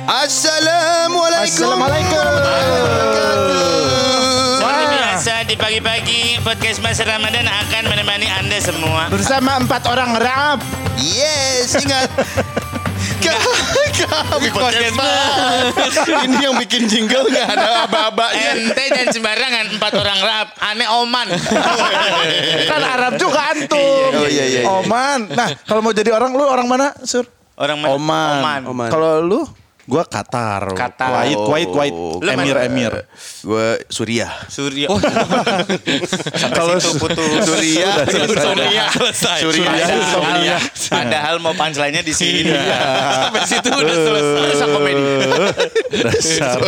Assalamualaikum. Seperti biasa di pagi-pagi podcast Mas Ramadan akan menemani Anda semua Bersama 4 orang rap. Yes, ingat. Kami podcast Mas. Ini yang bikin jingle nggak ada aba-abanya. ente dan sembarangan 4 orang rap. Aneh Oman. Kan Arab juga antum. Oh, iya. Oman. Nah, kalau mau jadi orang, lu orang mana, Sur? Orang mana? Oman. Kalau lu? Gua Qatar. Kuwait. Lu Emir. Gue Suriah. Surya. Kalau Suriah. Suriah. Padahal mau punchline-nya di sini. Sampai situ udah selesai komedi. Dasar.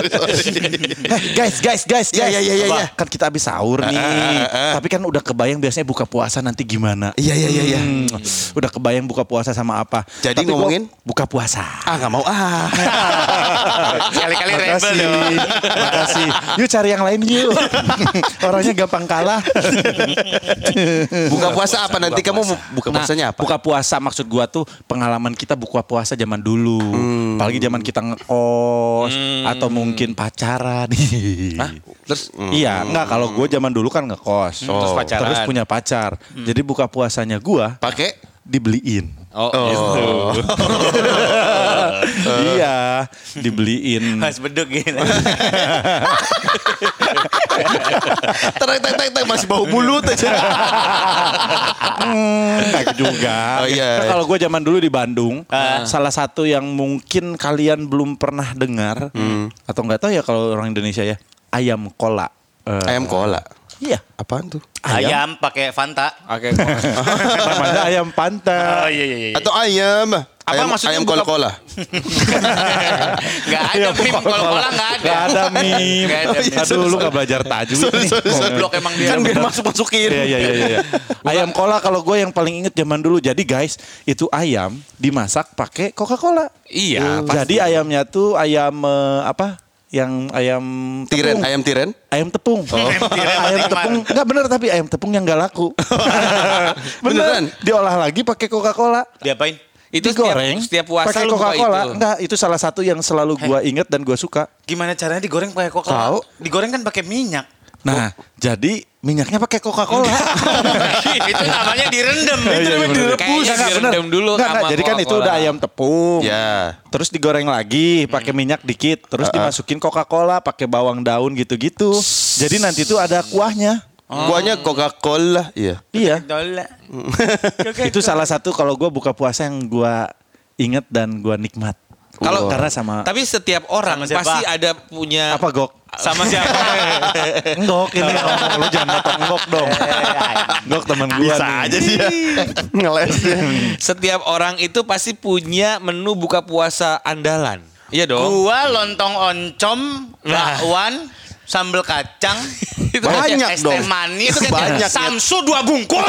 Guys. Iya. Kan kita habis sahur nih. Tapi kan udah kebayang biasanya buka puasa nanti gimana. Iya. Udah kebayang buka puasa sama apa. Jadi Tapi ngomongin? buka puasa. Nggak mau Sekali-kali rebel dong. Makasih. Yuk cari yang lain yuk. Orangnya gampang kalah. Buka puasa apa nanti kamu mau buka puasanya apa? Buka puasa maksud gua tuh pengalaman kita buka puasa zaman dulu. Apalagi zaman kita ngekos atau mungkin pacaran. Terus Iya, enggak kalau gua zaman dulu kan ngekos. Terus pacaran. Terus punya pacar. Jadi buka puasanya gua pakai dibeliin. Gitu. Iya, dibeliin. Mas beduk gitu. Terang masih bau mulut aja. Enggak juga. Oh, iya. Nah, kalau gue zaman dulu di Bandung, salah satu yang mungkin kalian belum pernah dengar atau nggak tahu ya kalau orang Indonesia ya, ayam kola. Ayam kola. Iya, Apaan tuh? Ayam pakai Fanta. Oke. namanya ayam pantai. Iya. Atau ayam. Maksudnya ayam buka- kola-kola. Gak ada meme kola-kola gak ada. Gak ada meme. Nggak ada meme. Aduh, lu gak belajar tajwid nih. Goblok emang dia. Kan biar masuk-masukin. Iya. Ayam kola kalau gue yang paling inget zaman dulu. Jadi guys, itu ayam dimasak pakai Coca-Cola. Iya. Jadi ayamnya tuh ayam apa? Yang ayam Tiren, tepung. ayam tiren. Ayam tepung. Ayam tepung. Enggak bener tapi ayam tepung yang gak laku. Beneran? Diolah lagi pakai Coca-Cola. Diapain? Itu digoreng setiap puasa pakai lu buka Coca-Cola. itu. Enggak, itu salah satu yang selalu gua inget dan gua suka. Gimana caranya digoreng pakai Coca-Cola? Tahu. Digoreng kan pakai minyak. Nah, jadi minyaknya pakai Coca-Cola. Itu namanya direndam. Iya, Itu namanya bener. direbus. Kayaknya Enggak, direndam dulu Enggak, sama jadi kan itu Coca-Cola. udah ayam tepung. Ya. Terus digoreng lagi pakai minyak dikit, terus dimasukin Coca-Cola, pakai bawang daun gitu-gitu. Jadi nanti tuh ada kuahnya. Kuahnya Coca-Cola. Iya. Iya. Dola. Itu salah satu kalau gue buka puasa yang gue inget dan gue nikmat. Kalau Karena sama Tapi setiap orang Sama siapa? pasti ada punya apa Gok? Sama siapa? Enggok ini ngomong lu jangan motong Enggok dong. Enggok teman gue Bisa aja sih ya. Ngelesnya. Setiap orang itu pasti punya menu buka puasa andalan. Iya dong. Gua lontong oncom, bakwan, sambal kacang, Itu Banyak es dong. teh manis, Itu banyak, ya. Samsu 2 bungkus.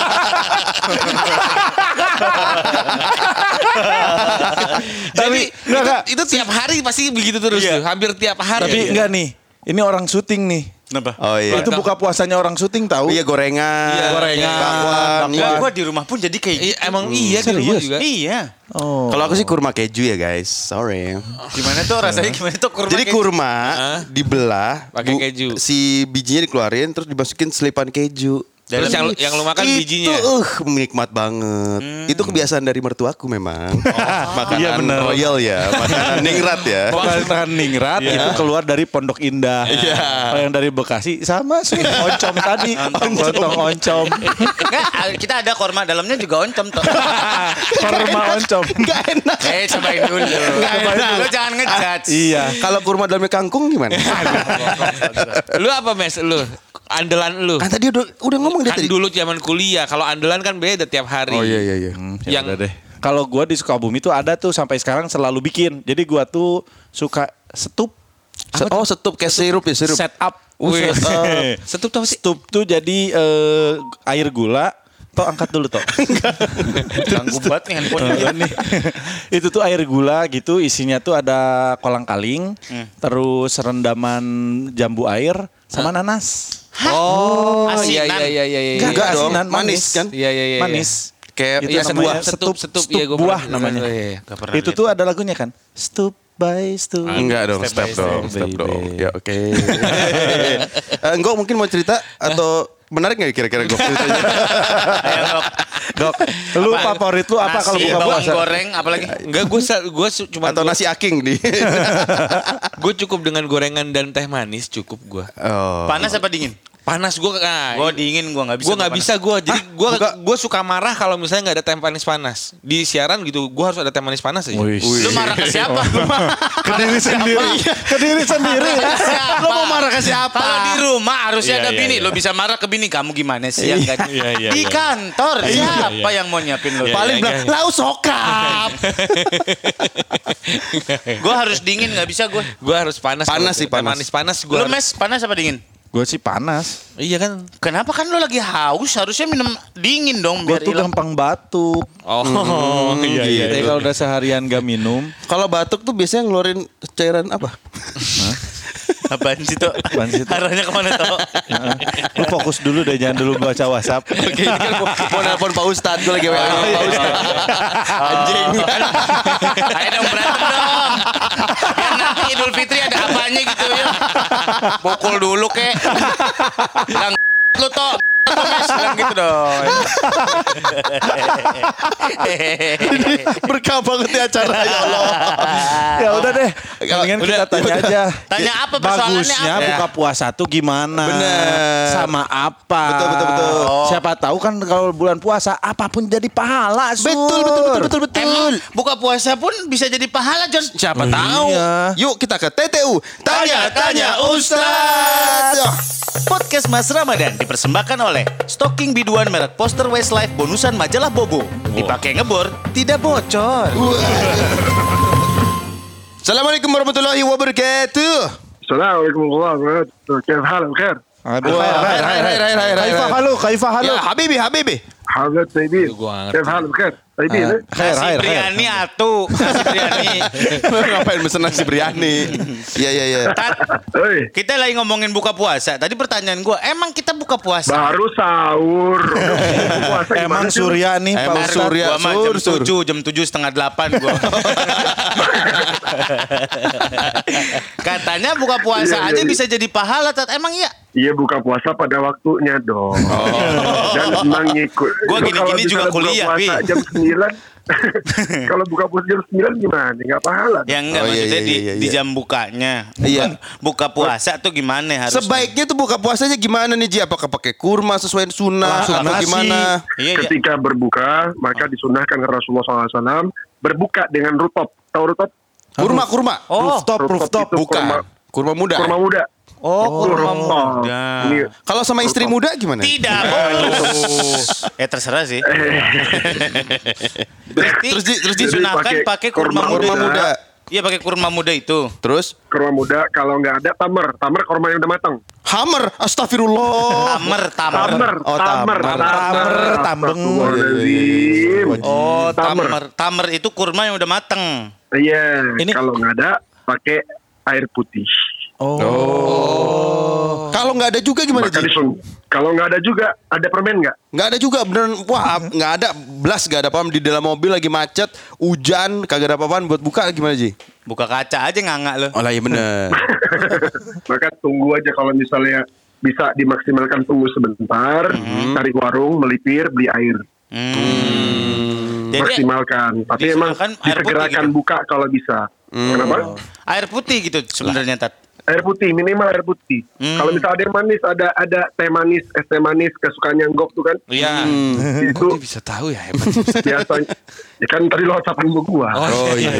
Jadi enggak. itu tiap hari pasti begitu terus Iya. tuh. Hampir tiap hari. Tapi enggak nih. Ini orang syuting nih. Kenapa? Oh iya. Itu buka puasanya orang syuting tahu? Iya gorengan. Iya, gorengan, bakwan. Enggak, Iya. gua di rumah pun jadi kayak Iya, gitu. emang iya di rumah Serius? juga. Iya. Oh. Kalau aku sih kurma keju ya guys. Sorry. Gimana tuh rasanya gimana tuh kurma? Jadi kayak- kurma dibelah, Pakai keju. si bijinya dikeluarin, terus dimasukin selipan keju. Terus yang lu makan bijinya. Itu nikmat banget. Itu kebiasaan dari mertuaku memang. Makanan Iya, bener. royal ya, makanan ningrat ya. Makanan ningrat itu keluar dari Pondok Indah. Kalau yang dari Bekasi sama sih oncom tadi. Lontong oncom. Enggak, kita ada korma dalamnya juga oncom tuh. Korma oncom. Gak enak. Cobain dulu. Lu jangan ngejudge. Iya. Kalau kurma dalamnya kangkung gimana? Lu apa Mes? Lu andalan lu? Kan tadi udah ngomong dia Kan tadi. dulu zaman kuliah. Kalau andalan kan beda tiap hari. Oh iya. Yang deh. Kalau gua di Sukabumi tuh ada tuh sampai sekarang selalu bikin. Jadi gua tuh suka setup. Setup kayak sirup ya, sirup. Set up. Wih. Setup tuh apa sih? Stup tuh jadi air gula. Toh angkat dulu toh. Ganggu banget nih handphone. Nih. Itu tuh air gula gitu, isinya tuh ada kolang-kaling, terus rendaman jambu air sama nanas. Oh, Asinan. iya. Enggak dong, asinan, manis kan? Iya. Manis. Kayak Itu Iya, namanya setup, setup iya, gua buah pernah- namanya. iya. Gak pernah Itu lihat. tuh ada lagunya kan. Stup by step. Enggak dong, Step by step step, dong. baby. Ya oke. Enggak mungkin mau cerita atau menarik nggak kira-kira gue ceritanya? Ayo, Gok, lu favorit lu apa kalau nasi, buka bawang puasa? goreng, apalagi? Enggak, gue cuma Atau nasi aking di. gue cukup dengan gorengan dan teh manis cukup gue. Oh. Panas apa dingin? Panas gue Gue dingin, gue nggak bisa. Gue nggak bisa gue, jadi gue suka marah kalau misalnya nggak ada teh manis panas di siaran gitu. Gue harus ada teh manis panas aja. Wih. Lu marah ke siapa? Ke diri sendiri. Ke diri sendiri. Siapa? Lo mau marah ke siapa? Kalau di rumah harusnya Iya, ada iya, bini. iya. Lo bisa marah ke bini. Kamu gimana sih? Yang nggak- Iya, Di kantor siapa yang mau nyiapin lo? Paling bilang, lau sokap. Gue harus dingin, nggak bisa gue. Gue harus panas. Panas sih, Teh panas. manis panas gue. Lu mes panas apa dingin? Gue sih panas. Iya kan? Kenapa kan lo lagi haus? Harusnya minum dingin dong Gue biar tuh hilang. gampang batuk. Oh, iya. Tapi kalau udah seharian gak minum, Kalau batuk tuh biasanya ngeluarin cairan apa? Apaan sih tuh? Apaan sih, Tok? Arahnya kemana tuh? lu fokus dulu deh, jangan dulu baca WhatsApp. Oke, ini kan mau nelpon Pak Ustadz, gue lagi WA sama Pak Ustadz. Anjing. Ayo dong berantem dong. Biar nanti Idul Fitri ada apanya gitu ya. Pukul dulu kek. Bilang lu toh. Mes bilang gitu dong. Berkah banget ya acara, ya Allah. Ya udah deh, mendingan kita tanya aja. Tanya apa persoalannya Bagusnya apa? buka puasa tuh gimana? Bener. Sama apa? Betul. Siapa tahu kan kalau bulan puasa apapun jadi pahala, Sur. Betul. Emang buka puasa pun bisa jadi pahala, John. Siapa tahu? Iya. Yuk kita ke TTU. Tanya Ustadz. Podcast Mas Ramadan dipersembahkan oleh Stocking biduan merek Poster Westlife bonusan majalah Bobo. Dipakai ngebor, tidak bocor. Assalamualaikum warahmatullahi wabarakatuh. السلام عليكم ورحمة الله وبركاته كيف حالك بخير؟ Kaifa halu. Ya Habibi. حضرتك طيبين Gua ngerti. كيف حالك بخير؟ طيبين إيه؟ Nasi biryani atuh. Nasi biryani. Ngapain mesen nasi biryani? Iya. Tat, إيه kita lagi ngomongin buka puasa. Tadi pertanyaan gue, emang kita buka puasa? baru sahur. Puasa Emang gimana sih? Surya nih, Pak Emang Ustadz. Surya. Gua mah jam 7, jam 7:30 gue. Katanya buka puasa Iya, aja iya. bisa jadi pahala, Tat. Emang iya? Iya buka puasa pada waktunya dong. Dan mengikut. Gua Kalau gini-gini juga misalnya buka kuliah, puasa Pi. jam 9. Kalau buka puasa jam 9 gimana? Enggak pahala. Ya enggak, Oh, iya, maksudnya iya. di jam bukanya. Iya. Buka puasa tuh gimana harusnya? Sebaiknya tuh buka puasanya gimana nih Ji? Apakah pakai kurma sesuai sunnah Langsung atau nasi. gimana? Iya. Ketika berbuka, maka disunahkan ke Rasulullah SAW berbuka dengan rutop. Tahu rutop? Kurma. Oh, Rooftop. itu Bukan. Kurma muda. Kurma muda. kurma Rooftop. muda. Ini Kalau sama istri muda gimana? Tidak bonus. Terserah sih. Berarti Terus Jadi disunahkan pakai pakai kurma kurma muda. muda. Iya, pakai kurma muda itu. Terus kurma muda, kalau nggak ada tamer kurma yang udah matang. hammer, astagfirullah. Tamer. Oh, tamer. Tambeng. Astagfirullahaladzim. Oh, Tamer. Tamer itu kurma yang udah mateng. Iya, Ini- kalau nggak ada pakai air putih. Kalau nggak ada juga gimana Maka Ji? kalau nggak ada juga, ada permen nggak? Nggak ada juga beneran. Wah, nggak ada. Blas nggak ada apa-apa di dalam mobil lagi macet, hujan, kagak ada apa-apaan buat buka gimana Ji? Buka kaca aja nganga lo. Oh lah iya bener. Maka tunggu aja kalau misalnya bisa dimaksimalkan, tunggu sebentar, cari warung, melipir, beli air. Jadi Maksimalkan. Tapi emang dimakan air putih disegerakan gitu? buka kalau bisa. Kenapa? air putih gitu sebenarnya, Tat. Air putih, minimal air putih. Kalau misalnya ada yang manis, ada teh manis, es teh manis kesukaannya Gok tuh kan. Iya. Itu Kok dia bisa tahu ya hebat. biasanya. Ya kan tadi lo whatsappan gua. Oh iya.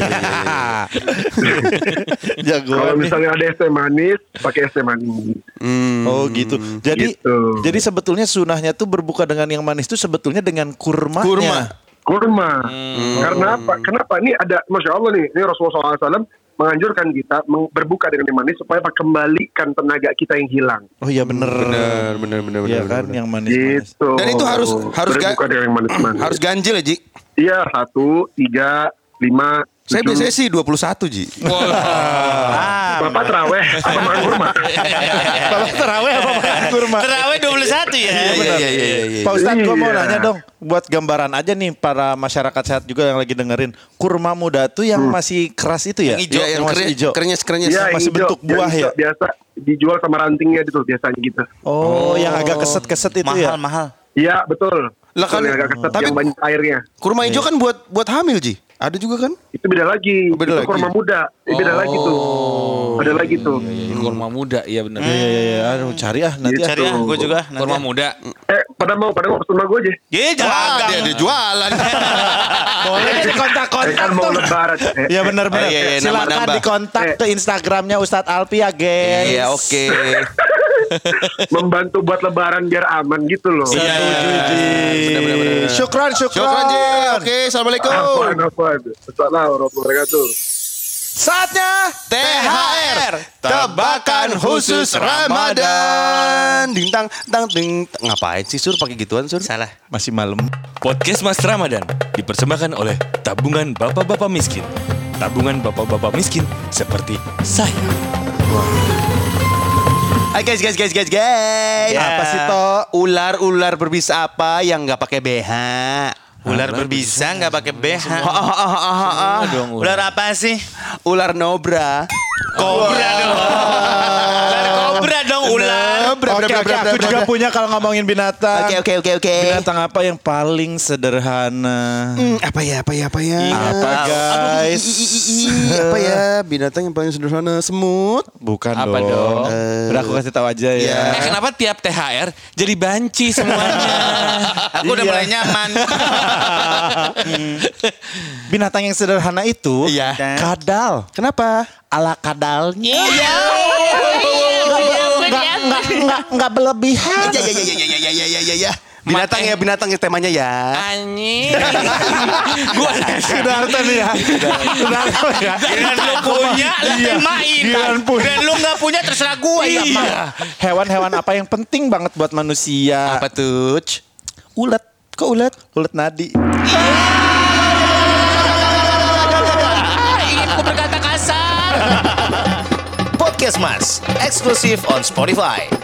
Kalau misalnya ada es teh manis, pakai es teh manis. Oh gitu. Jadi Gitu. jadi sebetulnya sunahnya tuh berbuka dengan yang manis tuh sebetulnya dengan kurmanya. Kurma. Kurma. Karena apa? Kenapa? Ini ada, Masya Allah nih, ini Rasulullah SAW menganjurkan kita berbuka dengan yang manis supaya kembalikan tenaga kita yang hilang. Oh iya bener. Bener. Iya kan yang manis-manis. Gitu. Dan itu harus berbuka dengan yang manis-manis. Harus ganjil ya Ji? Iya, 1, 3, 5, Saya 7. biasanya sih 21, Ji. Bapak terawih apa makan kurma? Bapak terawih apa makan kurma? Terawih 21 ya. Pak Ustadz, gue mau Iya. nanya dong, buat gambaran aja nih para masyarakat sehat juga yang lagi dengerin, kurma muda tuh yang masih keras itu ya? Yang hijau, yang masih hijau. krenyes-krenyes. Iya, masih yang bentuk hijau, buah yang ya? hijau biasa dijual sama rantingnya itu biasanya gitu. Oh, yang agak keset-keset itu ya? Mahal. Iya, betul. Lah kan, Betul, yang agak keset tapi- yang banyak airnya. Kurma hijau kan buat hamil, Ji. Ada juga kan? Itu beda lagi. Oh, beda itu lagi. kurma muda. Beda lagi tuh. Beda lagi tuh. Kurma muda, iya benar. Iya. Aduh, cari ah nanti. Gitu. Cari ya, gue juga. nanti. Kurma muda. Pada mau pesen sama gue aja. Ye, Wah, jangan. dia jualan. Boleh di Saya kontak-kontak kan mau tuh. lebaran. Ya benar-benar. Oh, iya, iya, Silakan nambah-nambah. dikontak ke Instagramnya Ustadz Alpi ya, guys. Iya, oke. Membantu buat lebaran biar aman gitu loh. Setuju, Ji. Benar-benar. Syukran. Syukran, Ji. Oke, assalamualaikum. Apaan. Assalamualaikum warahmatullahi wabarakatuh. Saatnya THR tebakan khusus Ramadan. Dintang tang ding. Ngapain sih Sur pakai gituan Sur? Salah. masih malam. Podcast Mas Ramadan dipersembahkan oleh Tabungan Bapak-Bapak Miskin. Tabungan Bapak-Bapak Miskin seperti saya. Hai guys. Apa sih, Tok? Ular berbisa apa yang nggak pakai BH? Ular berbisa nggak pakai BH. Ular apa sih? Ular nobra. Kobra dong. Ular kobra dong, ular. Oke, aku juga punya kalau ngomongin binatang. Oke. Binatang apa yang paling sederhana? Apa ya? Apa guys? Apa ya? Binatang yang paling sederhana semut. Bukan Apa dong? Udah aku kasih tahu aja ya. Kenapa tiap THR jadi banci semuanya? Aku udah Iya. mulai nyaman. Binatang yang sederhana itu Iya. kadal. Kenapa? Ala kadalnya. Enggak berlebihan. Ya. Binatang yang temanya ya. Anjing. Sudarta nih ya. Sudarta ya. Dan lu punya, lu temain. Giliran punya. Dan lu nggak punya terserah gue. Iya. Hewan-hewan apa yang penting banget buat manusia? Apa tuh? Ulet. Kok ulet? Ulet nadi. Ingin ku berkata kasar. Podcast Mas, eksklusif on Spotify.